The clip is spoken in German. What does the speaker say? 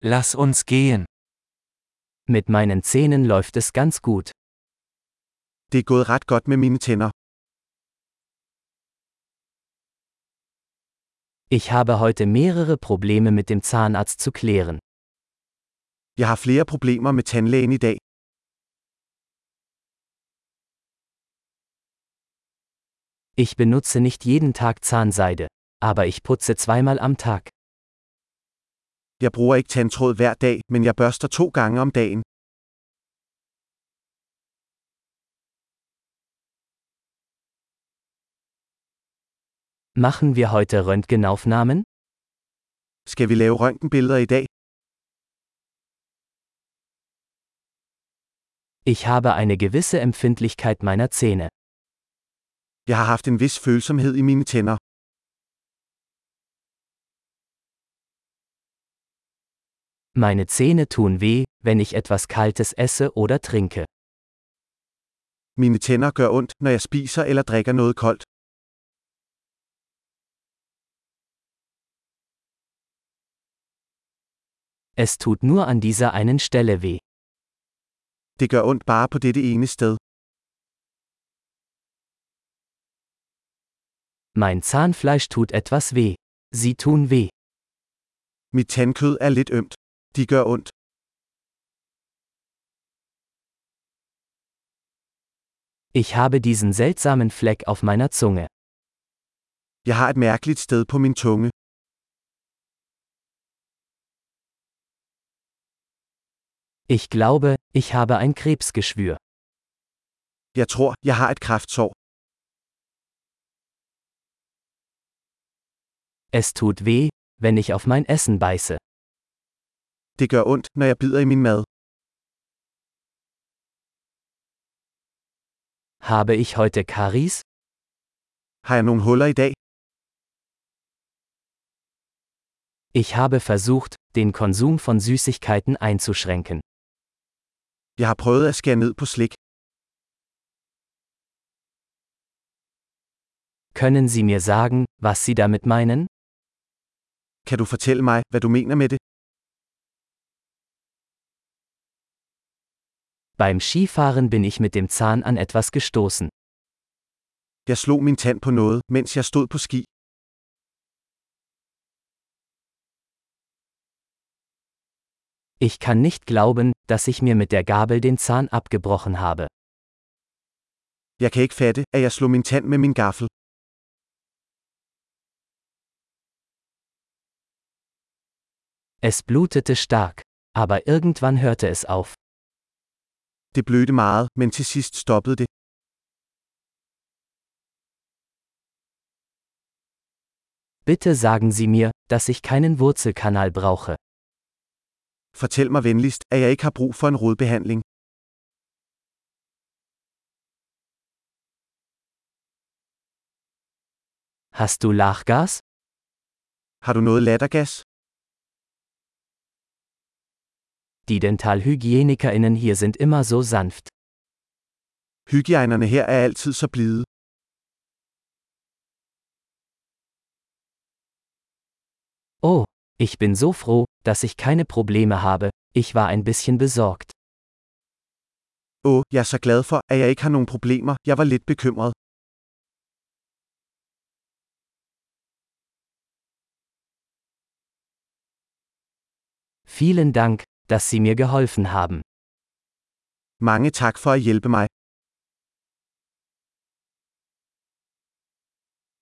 Lass uns gehen. Mit meinen Zähnen läuft es ganz gut. Det er gået ret godt med mine tænder. Ich habe heute mehrere Probleme mit dem Zahnarzt zu klären. Jeg har flere problemer med tandlægen i dag. Ich benutze nicht jeden Tag Zahnseide, aber ich putze zweimal am Tag. Jeg bruger ikke tandtråd hver dag, men jeg børster 2 gange om dagen. Machen wir heute Röntgenaufnahmen? Skal vi lave røntgenbilleder i dag? Ich habe eine gewisse Empfindlichkeit meiner Zähne. Jeg har haft en vis følsomhed i mine tænder. Meine Zähne tun weh, wenn ich etwas Kaltes esse oder trinke. Mine tænder gør ondt, når jeg spiser eller drikker noget koldt. Es tut nur an dieser einen Stelle weh. Det gør ondt bare på dette ene sted. Mein Zahnfleisch tut etwas weh. Sie tun weh. Mit tandkød er lidt ømt. De gør ondt. Ich habe diesen seltsamen Fleck auf meiner Zunge. Jeg har et mærkeligt sted på min tunge. Ich glaube, ich habe ein Krebsgeschwür. Jeg tror, jeg har et kræftsår. Es tut weh, wenn ich auf mein Essen beiße. Det gør ondt, når jeg bider i min mad. Habe ich heute Karies? Har jeg nogle huller i dag? Ich habe versucht, den Konsum von Süßigkeiten einzuschränken. Jeg har prøvet at skære ned på slik. Können Sie mir sagen, was Sie damit meinen? Kan du fortælle mig, hvad du mener med det? Beim Skifahren bin ich mit dem Zahn an etwas gestoßen. Jeg slog min tand på noget, mens jeg stod på ski. Ich kann nicht glauben, dass ich mir mit der Gabel den Zahn abgebrochen habe. Jeg kan ikke fatte, at jeg slog min tand med min gaffel. Es blutete stark, aber irgendwann hörte es auf. Det blødte meget, men til sidst stoppede det. Bitte sagen Sie mir, dass ich keinen Wurzelkanal brauche. Fortæl mig venligst, at jeg ikke har brug for en rodbehandling. Hast du Lachgas? Har du noget lattergas? Die DentalhygienikerInnen hier sind immer so sanft. Hygiejnerne her er altid så blide. Oh, ich bin so froh, dass ich keine Probleme habe, ich war ein bisschen besorgt. Jeg er så glad for, at jeg ikke har nogen problemer, jeg var lidt bekymret. Vielen Dank, dass Sie mir geholfen haben. Mange tak for at hjælpe mig.